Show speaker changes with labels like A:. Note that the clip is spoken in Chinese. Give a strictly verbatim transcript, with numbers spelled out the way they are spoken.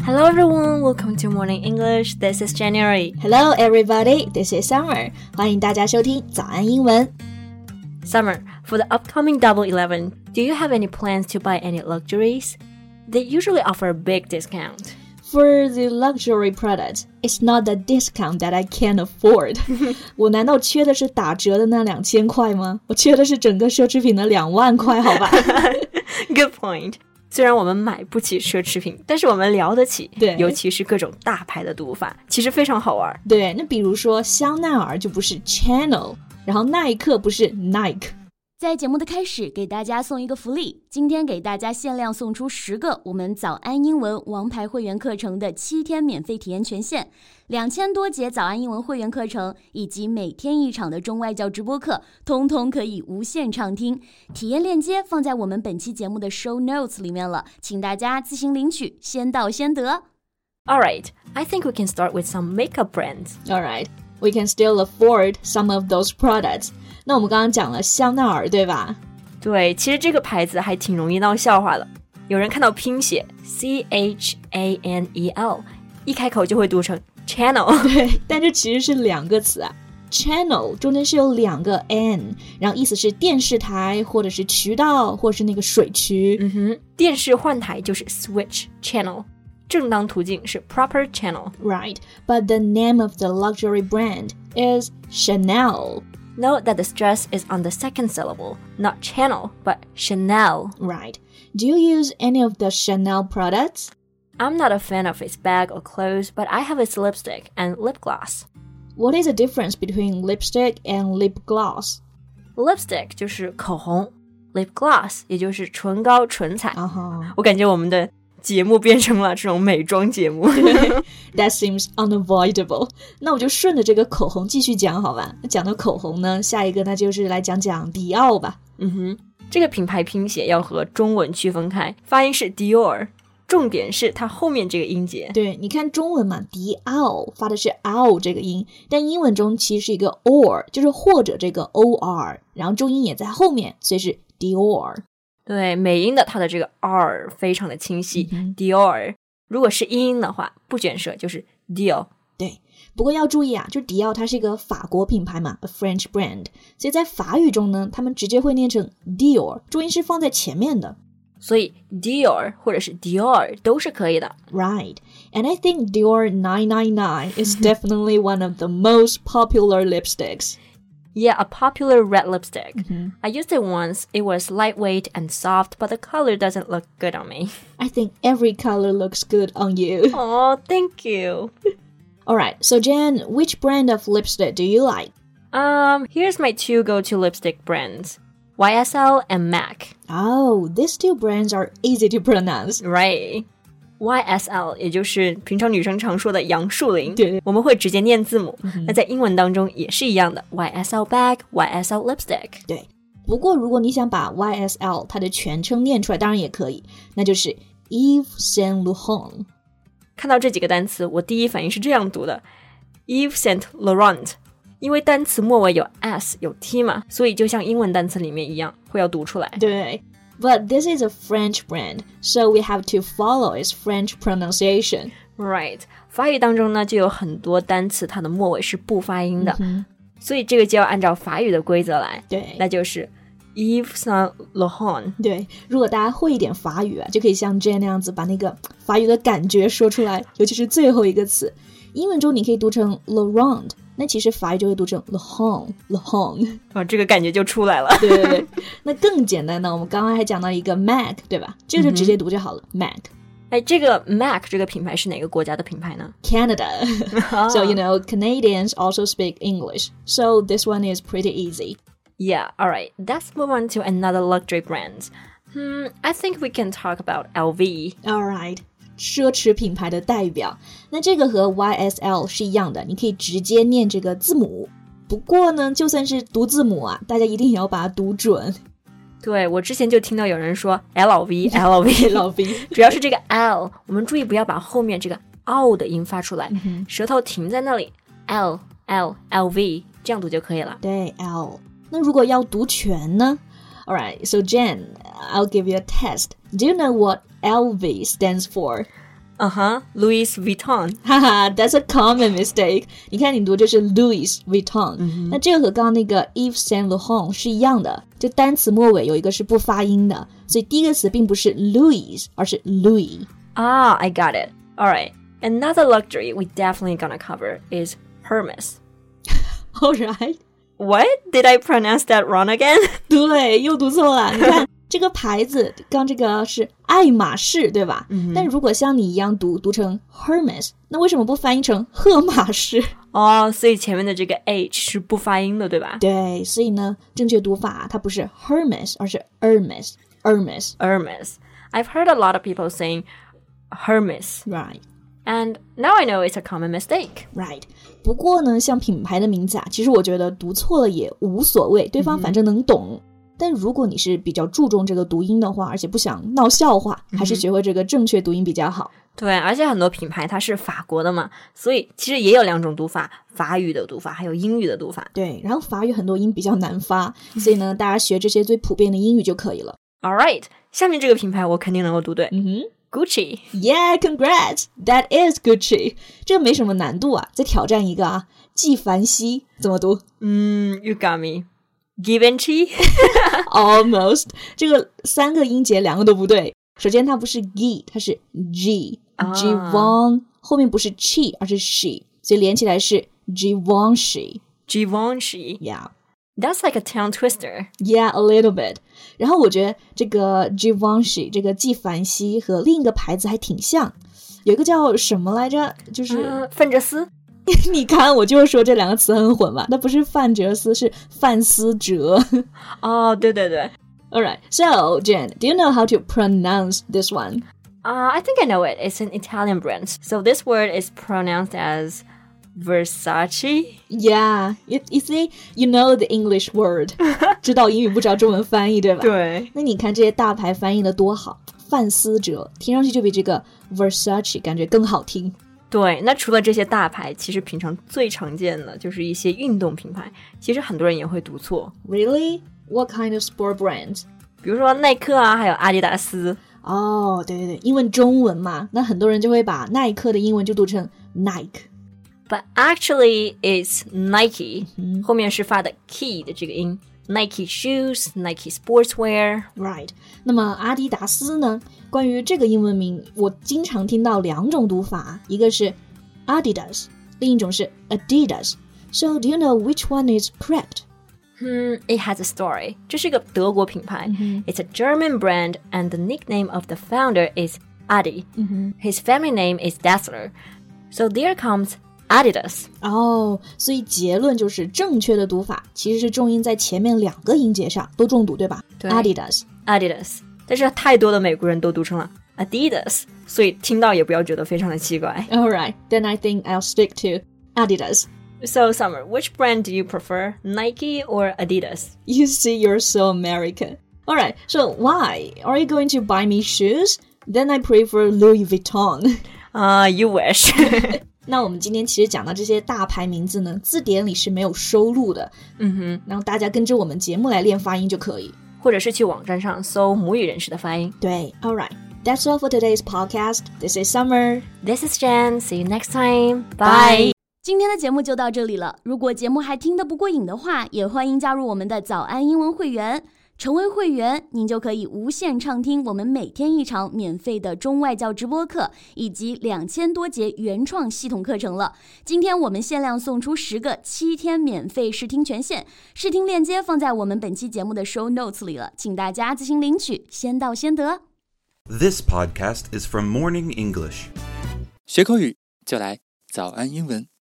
A: Hello everyone, welcome to Morning English. This is January.
B: Hello everybody, this is Summer. 欢迎大家收听早安英文。
A: Summer, for the upcoming Double Eleven, do you have any plans to buy any luxuries? They usually offer a big discount.
B: For the luxury products, it's not the discount that I can't afford. 我难道缺的是打折的那两千块吗？我缺的是整个奢侈品的两万块，好吧
A: ？Good point. 虽然我们买不起奢侈品，但是我们聊得起，
B: 对，
A: 尤其是各种大牌的读法，其实非常好玩。
B: 对，那比如说香奈儿就不是 Chanel， 然后耐克不是 Nike。
C: 在节目的开始，给大家送一个福利，今天给大家限量送出十个我们早安英文王牌会员课程的七天免费体验权限，两千多节早安英文会员课程以及每天一场的中外教直播课，通通可以无限畅听。体验链接放在我们本期节目的 show notes 里面了，请大家自行领取，先到先得。
A: Alright, I think we can start with some makeup brands.
B: Alright, we can still afford some of those products.那我们刚刚讲了香奈儿，对吧？
A: 对，其实这个牌子还挺容易闹笑话的。有人看到拼写 C H A N E L， 一开口就会读成 Channel。
B: 对，但这其实是两个词啊。Channel 中间是有两个 N， 然后意思是电视台，或者是渠道，或者是那个水渠。
A: 嗯哼，电视换台就是 switch channel， 正当途径是 proper channel。
B: Right, but the name of the luxury brand is Chanel.Note
A: that the stress is on the second syllable, not channel, but Chanel.
B: Right. Do you use any of the Chanel products?
A: I'm not a fan of its bag or clothes, but I have its lipstick and lip gloss.
B: What is the difference between lipstick and lip gloss?
A: Lipstick 就是口红， lip gloss 也就是唇膏唇彩。
B: Uh-huh.
A: 我感觉我们的节目变成了这种美妆节目。
B: That seems unavoidable. 那我就顺着这个口红继续讲好吧。那讲到口红呢，下一个那就是来讲讲迪奥吧。
A: 嗯哼，这个品牌拼写要和中文区分开，发音是 Dior， 重点是它后面这个音节。
B: 对，你看中文嘛，迪奥发的是 ao 这个音，但英文中其实是一个 or， 就是或者这个 or， 然后重音也在后面，所以是 Dior。
A: 对，美音的它的这个 R 非常的清晰、嗯、Dior。 如果是英音的话，不卷舌就是 Dior。
B: 对，不过要注意啊，就迪奥它是一个法国品牌嘛， a French brand， 所以在法语中呢，他们直接会念成 Dior， 重音是放在前面的，
A: 所以 Dior 或者是 Dior 都是可以的。
B: Right, and I think Dior nine nine nine is definitely one of the most popular lipsticks.Yeah,
A: a popular red lipstick.
B: Mm-hmm.
A: I used it once. It was lightweight and soft, but the color doesn't look good on me.
B: I think every color looks good on you.
A: Oh, thank you.
B: Alright, so Jen, which brand of lipstick do you like?
A: Um, here's my two go-to lipstick brands. Y S L and MAC.
B: Oh, these two brands are easy to pronounce.
A: Right.Y S L 也就是平常女生常说的杨树林，
B: 对，
A: 我们会直接念字母、
B: 嗯、
A: 那在英文当中也是一样的 Y S L bag, Y S L lipstick。
B: 对，不过如果你想把 Y S L 它的全称念出来当然也可以，那就是 Yves Saint Laurent。
A: 看到这几个单词我第一反应是这样读的 Yves Saint Laurent， 因为单词末尾有 S 有 T 嘛，所以就像英文单词里面一样会要读出来。
B: 对，But this is a French brand, so we have to follow its French pronunciation.
A: Right. 法语当中呢，就有很多单词它的末尾是不发音的、
B: 嗯、
A: 所以这个就要按照法语的规则来。
B: 对，
A: 那就是 Yves Saint Laurent。
B: 对，如果大家会一点法语啊，就可以像 Jane 那样子把那个法语的感觉说出来，尤其是最后一个词。英文中你可以读成 Laurent，那其实法语就会读成 Laurent Laurent，
A: 哦，这个感觉就出来了。
B: 对对对，那更简单的，我们刚刚还讲到一个 MAC， 对吧？这个就直接读就好了、嗯、MAC。
A: 哎，这个 MAC 这个品牌是哪个国家的品牌呢？
B: Canada. So, you know, Canadians also speak English. So this one is pretty easy.
A: Yeah, alright. Let's move on to another luxury brand. Hmm, I think we can talk about L V.
B: Alright.奢侈品牌的代表，那这个和 Y S L 是一样的，你可以直接念这个字母。不过呢，就算是读字母啊，大家一定也要把它读准。
A: 对，我之前就听到有人说 L V L V
B: L V，
A: 主要是这个 L， 我们注意不要把后面这个 O 的音发出来、
B: 嗯、
A: 舌头停在那里 L L L V 这样读就可以了。
B: 对 L。那如果要读全呢？ Alright, so Jen, I'll give you a test. Do you know what L V stands for?
A: Uh-huh, Louis Vuitton.
B: 哈哈 That's a common mistake. 你看你读就是 Louis Vuitton、嗯、那这个和刚刚那个 Yves Saint Laurent 是一样的，就单词末尾有一个是不发音的，所以第一个词并不是 Louis 而是 Louis.
A: Ah, I got it. Alright, another luxury we definitely gonna cover is Hermes.
B: Alright.
A: What? Did I pronounce that wrong again?
B: 对，又读错了。你看这个牌子刚这个是爱马仕对吧、嗯、但如果像你一样读读成 Hermes， 那为什么不翻译成赫马仕？
A: 哦，所以前面的这个 H 是不发音的对吧？
B: 对，所以呢正确读法它不是 Hermes 而是 Hermes Hermes
A: Hermes. I've heard a lot of people saying Hermes.
B: Right.
A: And now I know it's a common mistake.
B: Right. 不过呢像品牌的名字啊，其实我觉得读错了也无所谓，对方反正能懂、嗯、但如果你是比较注重这个读音的话，而且不想闹笑话、嗯、还是学会这个正确读音比较好。
A: 对，而且很多品牌它是法国的嘛，所以其实也有两种读法，法语的读法还有英语的读法。
B: 对，然后法语很多音比较难发，所以呢大家学这些最普遍的英语就可以了。
A: Alright, 下面这个品牌我肯定能够读对。
B: 嗯哼
A: Gucci.
B: Yeah, congrats. That is Gucci. 这个没什么难度啊，再挑战一个啊，纪梵希怎么读？
A: 嗯 You got me. Givenchy?
B: Almost. 这个三个音节两个都不对。首先它不是 G， 它是 G、啊、Givenchy 后面不是 chi 而是 she， 所以连起来是 Givenchy.
A: Givenchy.
B: Yeah.That's
A: like a tongue twister.
B: Yeah, a little bit. 然后我觉得这个 Givenchy 这个纪梵希和另一个牌子还挺像，有一个叫什么来着，就是、
A: 呃、范哲斯。
B: 你看我就说这两个词很混嘛，那不是范哲斯是范思哲。
A: 哦，对对对。
B: Alright, so Jen, do you know how to pronounce this one?
A: Uh, I think I know it. It's an Italian brand. So this word is pronounced as Versace?
B: Yeah, you, you see, you know the English word. 知道英语不知道中文翻译对吧？
A: 对。
B: 那你看这些大牌翻译的多好，范思哲听上去就比这个 Versace 感觉更好听。
A: 对，那除了这些大牌，其实平常最常见的就是一些运动品牌，其实很多人也会读错。
B: Really? What kind of sport brands?
A: 比如说耐克啊，还有阿迪达斯。
B: 哦，对对对，因为中文嘛，那很多人就会把耐克的英文就读成 Nike。But
A: actually it's Nike、嗯、后面是发的 key 的这个音 Nike shoes, Nike sportswear.
B: Right. 那么阿迪达斯呢，关于这个英文名我经常听到两种读法，一个是 Adidas 另一种是 Adidas. So do you know which one is correct?
A: Hmm, it has a story. 这是一个德国品牌、mm-hmm. It's a German brand and the nickname of the founder is Adi、mm-hmm. His family name is Dassler. So there comes Adidas.
B: 哦，所以结论就是正确的读法其实是重音在前面两个音节上都重读对吧？
A: 对
B: Adidas
A: Adidas 但是太多的美国人都读成了 Adidas 所以听到也不要觉得非常的奇怪。
B: Alright, then I think I'll stick to Adidas.
A: So Summer, which brand do you prefer, Nike or Adidas?
B: You see, you're so American. Alright, so why? Are you going to buy me shoes? Then I prefer Louis Vuitton.
A: Ah, uh, you wish.
B: 那我们今天其实讲到这些大牌名字呢，字典里是没有收录的。
A: 嗯哼，
B: 然后大家跟着我们节目来练发音就可以，
A: 或者是去网站上搜母语人士的发音。
B: 对 Alright, that's all for today's podcast. This is Summer.
A: This is Jen. See you next time. Bye.
C: 今天的节目就到这里了。如果节目还听得不过瘾的话，也欢迎加入我们的早安英文会员。成为会员，您就可以无限畅听我们每天一场免费的中外教直播课，以及两千多节原创系统课程了。今天我们限量送出十个七天免费试听权限，试听链接放在我们本期节目的 show notes 里了，请大家自行领取，先到先得。
D: This podcast is from Morning English.
E: 学口语就来早安英文。